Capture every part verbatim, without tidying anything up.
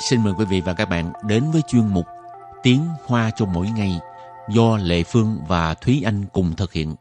xin mời quý vị và các bạn đến với chuyên mục Tiếng Hoa cho mỗi ngày do Lệ Phương và Thúy Anh cùng thực hiện.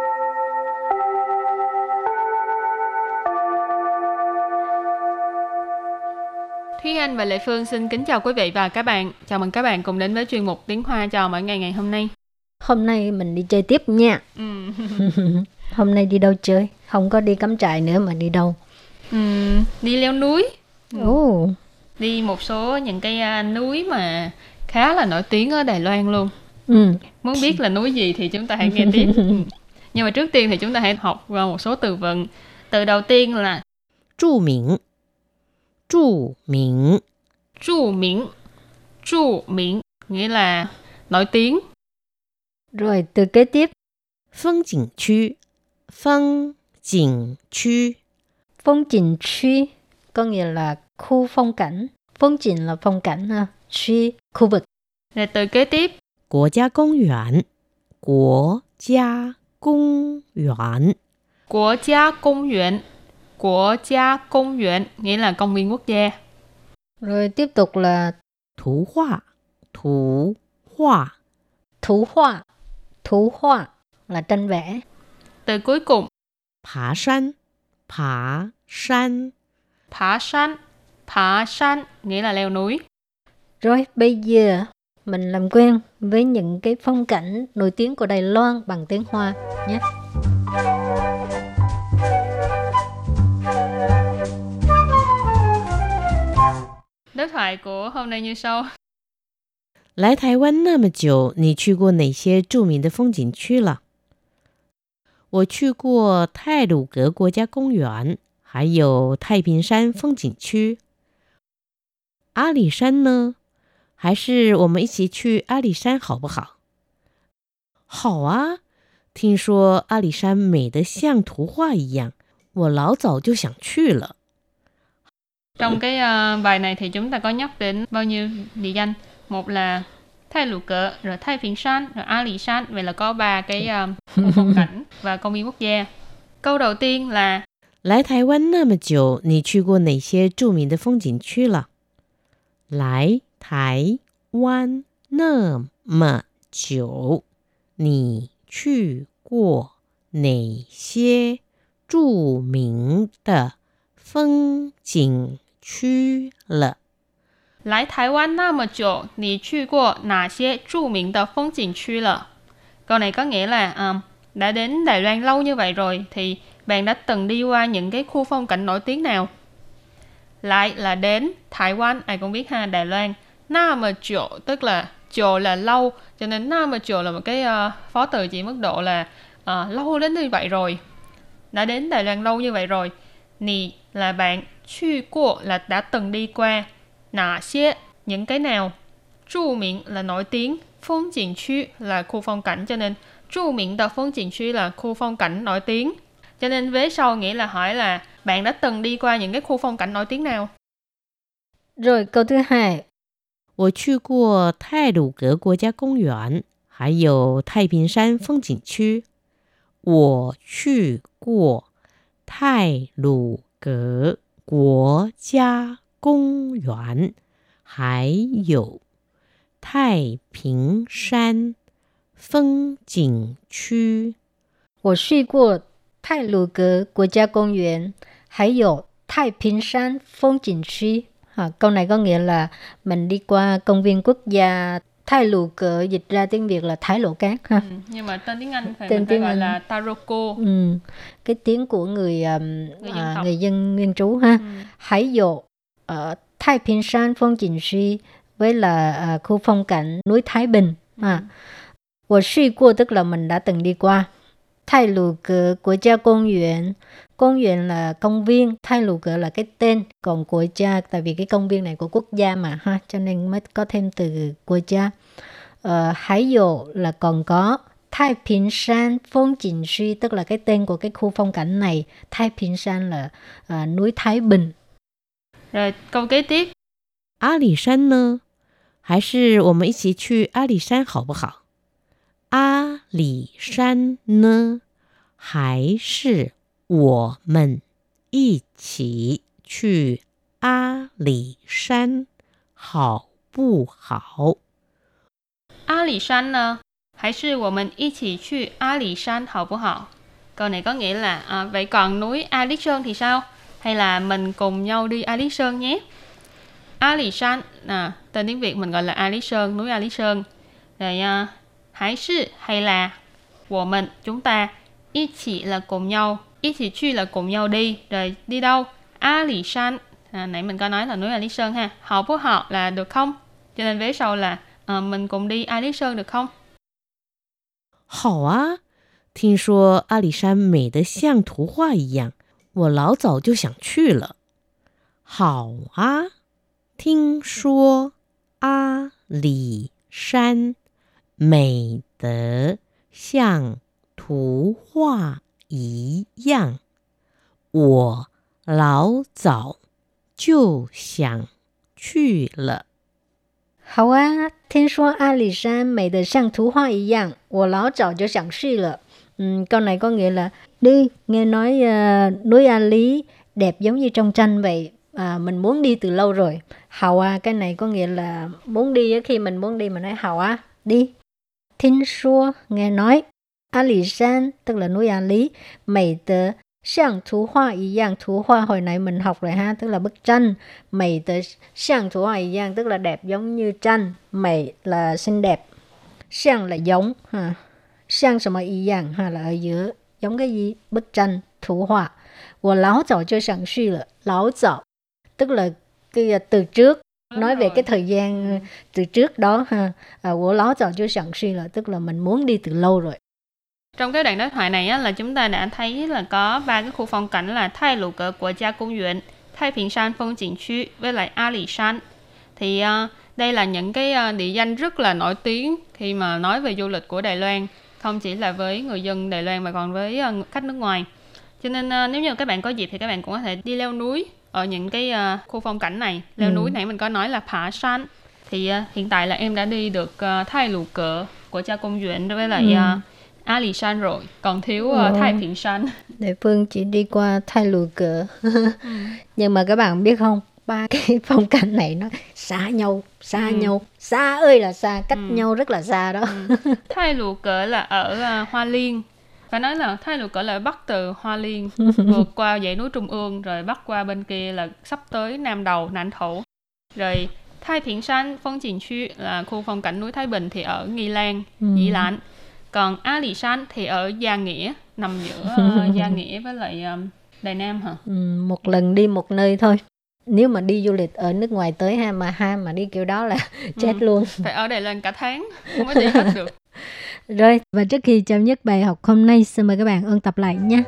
Thúy Anh và Lệ Phương xin kính chào quý vị và các bạn. Chào mừng các bạn cùng đến với chuyên mục Tiếng Hoa cho mỗi ngày ngày hôm nay. Hôm nay mình đi chơi tiếp nha. Ừ. Hôm nay đi đâu chơi? Không có đi cắm trại nữa mà đi đâu? Ừ, đi leo núi. Ồ. Ừ. Đi một số những cái núi mà khá là nổi tiếng ở Đài Loan luôn. Ừ. Muốn biết là núi gì thì chúng ta hãy nghe tiếp. Ừ. Nhưng mà trước tiên thì chúng ta hãy học một số từ vựng. Từ đầu tiên là 著名.著名. 著名.著名nghĩa là nổi tiếng. Rồi từ kế tiếp. Phong景區. Phong景區. Phong景區có nghĩa là khu phong cảnh. Phong景là phong cảnh ha.區khu vực. Rồi từ kế tiếp. Quốc gia công園. Quốc gia công園. Quốc gia công園. Quốc gia công園nghĩa là công viên quốc gia. Rồi tiếp tục là Thủ họa. Thủ họa. Thủ họa. Thủ họa là tranh vẽ. Từ cuối cùng. Phá山. Phá山. Phá山. Phá山nghĩa là leo núi. Rồi bây giờ mình làm quen với những cái phong cảnh nổi tiếng của Đài Loan bằng tiếng Hoa nhé. Đối thoại của hôm nay như sau. 來台灣那麼久，你去過哪些著名的風景區了？我去過太魯閣國家公園，還有太平山風景區。阿里山呢？還是我們一起去阿里山好不好？好啊，聽說阿里山美得像圖畫一樣，我老早就想去了。 Trong cái uh, bài này thì chúng ta có nhắc đến bao nhiêu địa danh. Một là Thái Lù Cỡ, rồi Thái Phiên San, rồi A Lì San. Vậy là có ba cái uh, khu phong cảnh và công viên quốc gia. Câu đầu tiên là 來台灣那麼久，你去過哪些著名的風景區了？來台灣那麼久，你去過哪些著名的風景區了？ 來台灣那麼久，你去過哪些著名的風景區了? Câu này có nghĩa là um, đã đến Đài Loan lâu như vậy rồi thì bạn đã từng đi qua những cái khu phong cảnh nổi tiếng nào? Lại là đến, Thái Quan ai cũng biết ha, Đài Loan. Na mà chỗ tức là chỗ là lâu, cho nên na mà chỗ là một cái uh, phó từ chỉ mức độ là uh, lâu đến như vậy rồi. Đã đến Đài Loan lâu như vậy rồi. Nì là bạn, chu qua là đã từng đi qua. Nà xie những cái nào.著名là nổi tiếng, phong景區là khu phong cảnh, cho nên著名的風景區là khu phong cảnh nổi tiếng. Cho nên vế sau nghĩa là hỏi là bạn đã từng đi qua những cái khu phong cảnh nổi tiếng nào? Rồi câu thứ hai. 我去過太魯閣國家公園，還有太平山風景區。我去過太魯閣國家公園，還有太平山風景區。 我去過太魯閣國家公園，還有太平山風景區. À, câu này có nghĩa là mình đi qua công viên quốc gia Thái Lù Cỡ, dịch ra tiếng Việt là Thái Lộ Cát ha. Ừ, nhưng mà tên tiếng Anh phải, tên mình phải tiếng gọi Anh là Taroko. Ừ, cái tiếng của người um, người, dân à, người dân nguyên trú ha. Ừ. Hải dụ ở Thái Bình San phong景區với là uh, khu phong cảnh núi Thái Bình. Ừ. À, 我去過 tức là mình đã từng đi qua. Thái Lù Cỡ quốc gia công園. Công viên là công viên, Thái Lù Cỡ là cái tên, còn quốc gia tại vì cái công viên này của quốc gia mà ha, cho nên mới có thêm từ quốc gia. Ờ, Hải dụ là còn có Thái Bình San phong景區, tức là cái tên của cái khu phong cảnh này. Thái Bình San là uh, núi Thái Bình. Rồi câu kế tiếp. 阿里山呢？還是我們一起去阿里山好不好？阿里山呢？還是我們一起去阿里山好不好？ 阿里山呢？還是我們一起去阿里山好不好? Câu này có nghĩa là à, vậy còn núi A Lý Sơn thì sao? Hay là mình cùng nhau đi A Lý Sơn nhé? A Lý Sơn, à, tên tiếng Việt mình gọi là A Lý Sơn, núi A Lý Sơn. Rồi à, hãy sư hay là của mình, chúng ta, ý chỉ là cùng nhau, ý chỉ truy là cùng nhau đi. Rồi đi đâu? A Lý Sơn, à, nãy mình có nói là núi A Lý Sơn ha. Họ bố họ là được không? Cho nên vế sau là à, mình cùng đi A Lý Sơn được không? 好啊，聽說阿里山美得像圖畫一樣，我老早就想去了。好啊，聽說阿里山美得像圖畫一樣，我老早就想去了。 好啊，聽說阿里山美得像圖畫一樣，我老早就想去了. Ừ, câu này có nghĩa là đi, nghe nói uh, núi A Lý đẹp giống như trong tranh vậy, à, mình muốn đi từ lâu rồi. Hào à, cái này có nghĩa là muốn đi, khi mình muốn đi mình nói hào à, đi. Thính xua, nghe nói. A Lý San, tức là núi A Lý, mày tờ Xiang thú hoa y yang, thú hoa hồi nãy mình học rồi ha, tức là bức tranh. Mày tờ xiang thú hoa y yang, tức là đẹp giống như tranh. Mày là xinh đẹp. Xiang là giống ha. Xiang什麼一樣ha, là ở giữa, giống cái gì? Bức tranh, thú hoa. Wo lão早就想去了. Lão早, tức là cái từ trước, nói về cái thời gian từ trước đó ha. À, wo lão早就想去了, tức là mình muốn đi từ lâu rồi. Trong cái đoạn đối thoại này á, là chúng ta đã thấy là có ba cái khu phong cảnh là Thái Lũ Cỡ Quốc gia Công viên, Thái Bình San Phong景区với lại A Lý San. Thì uh, đây là những cái uh, địa danh rất là nổi tiếng khi mà nói về du lịch của Đài Loan, không chỉ là với người dân Đài Loan mà còn với uh, khách nước ngoài. Cho nên uh, nếu như các bạn có dịp thì các bạn cũng có thể đi leo núi ở những cái uh, khu phong cảnh này. Leo ừ. núi nãy mình có nói là Phá San. Thì uh, hiện tại là em đã đi được uh, Thái Lũ Cỡ Quốc gia Công viên với lại ừ. uh, A Lý San rồi, còn thiếu uh, Thái Bình San. Đại Phương chỉ đi qua Thái Lũ Cỡ. ừ. Nhưng mà các bạn biết không, ba cái phong cảnh này nó xa nhau, xa ừ. nhau, xa ơi là xa, cách ừ. nhau rất là xa đó. ừ. Thái Lũ Cỡ là ở uh, Hoa Liên. Phải nói là Thái Lũ Cỡ là bắc từ Hoa Liên, vượt qua dãy núi Trung ương, rồi bắc qua bên kia là sắp tới Nam Đầu, Nãnh Thổ. Rồi Thái Bình San Phong景区là khu phong cảnh núi Thái Bình thì ở Nghi Lan, ừ. Dĩ Lãn. Còn A Lý San thì ở Gia Nghĩa, nằm giữa uh, Gia Nghĩa với lại uh, Đài Nam hả? Ừ, một lần đi một nơi thôi. Nếu mà đi du lịch ở nước ngoài tới ha, mà ha mà đi kiểu đó là chết ừ. luôn. Phải ở Đài Loan cả tháng, không có đi hết được. Rồi, và trước khi chấm dứt bài học hôm nay, xin mời các bạn ôn tập lại nhé.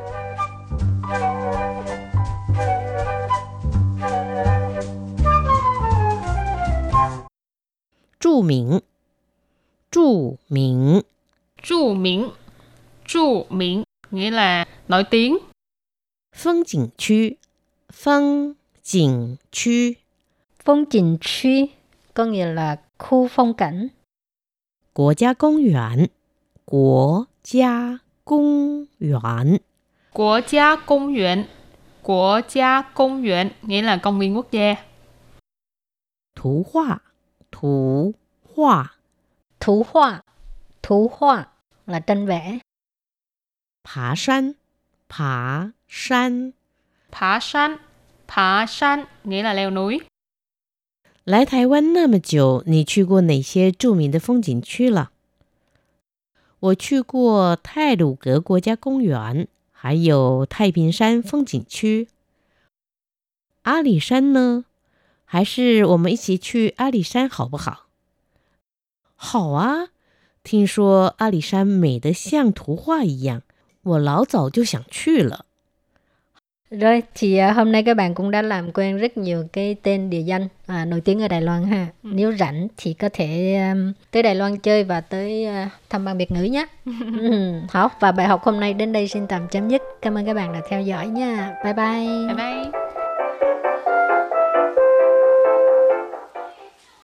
著名,著名. 著名,著名nghĩa là nổi tiếng. Phong景区, Phong景区. Phong景区có nghĩa là khu phong cảnh. Quốc gia Công viên, Quốc gia Công viên. Quốc gia Công viên, Quốc gia Công viên nghĩa là công viên quốc gia. Thú hoa, thú hoa. Thú hoa, thú hoa là tranh vẽ. Phá San, Phá San. Phá San, Phá San nghĩa là leo núi. 來台灣那麼久，你去過哪些著名的風景區了？我去過太魯閣國家公園，還有太平山風景區。阿里山呢？還是我們一起去阿里山好不好？好啊，聽說阿里山美得像圖畫一樣，我老早就想去了。 Rồi, thì uh, hôm nay các bạn cũng đã làm quen rất nhiều cái tên địa danh à, nổi tiếng ở Đài Loan ha. Ừ. Nếu rảnh thì có thể um, tới Đài Loan chơi và tới uh, thăm Ban Việt ngữ nhé. ừ. Hảo, và bài học hôm nay đến đây xin tạm chấm dứt. Cảm ơn các bạn đã theo dõi nha. Bye bye. Bye bye.